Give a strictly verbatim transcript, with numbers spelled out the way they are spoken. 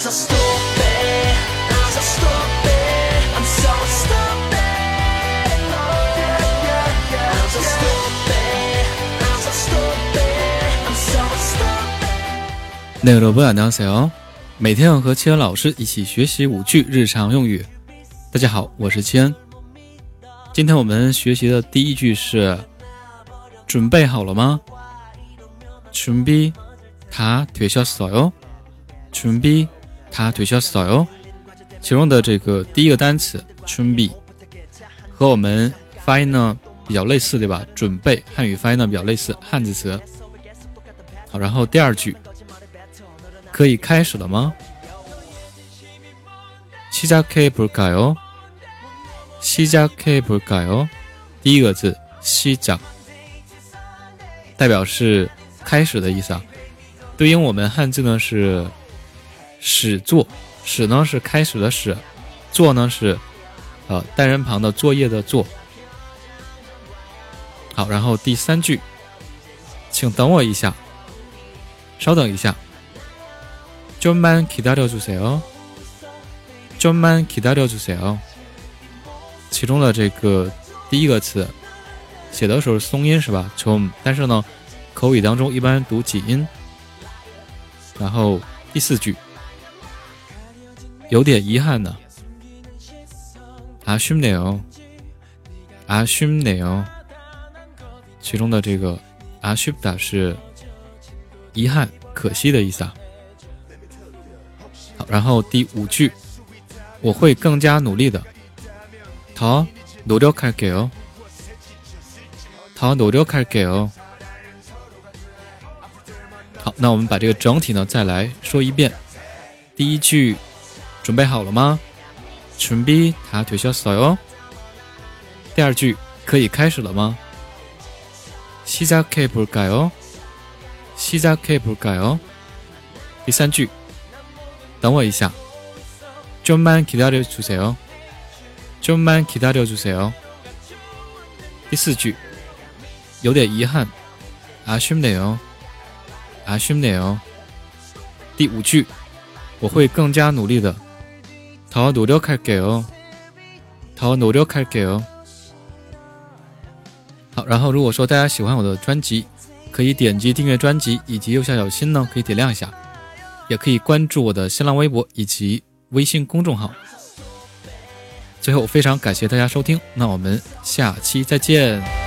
네 여러분 안녕하세요。每天要和七恩老师一起学习五句日常用语。大家好，我是七恩。今天我们学习的第一句是准备好了吗？준비 다 되셨어요？준비 다 되셨어요？其中的这个第一个单词준비和我们发音呢比较类似，对吧？准备汉语发音呢比较类似，汉字词。好，然后第二句可以开始了吗？시작해볼까요？시작해볼까요？第一个字시작代表是开始的意思啊，对应我们汉字呢是始作，始呢是开始的始，作呢是呃单人旁的作业的作。好，然后第三句，请等我一下，稍等一下。좀만 기다려주세요。좀만 기다려주세요。其中的这个第一个词写的时候是松音是吧？좀，但是呢口语当中一般读紧音。然后第四句，有点遗憾呢。아쉽네요。아쉽네요。其中的这个아쉽다是遗憾、可惜的意思啊。好，然后第五句，我会更加努力的。더 노력할게요。더 노력할게요。好，那我们把这个整体呢再来说一遍。第一句，准备好了吗？준비 다 되셨어요？第二句，可以开始了吗？시작해볼까요？시작해볼까요？第三句，等我一下。좀만 기다려주세요。좀만 기다려주세요。第四句，有点遗憾。아쉽네요。아쉽네요。第五句，我会更加努力的。더 노력할게요。더 노력할게요。好，然后如果说大家喜欢我的专辑，可以点击订阅专辑，以及右下角心呢可以点亮一下，也可以关注我的新浪微博以及微信公众号。最后非常感谢大家收听，那我们下期再见。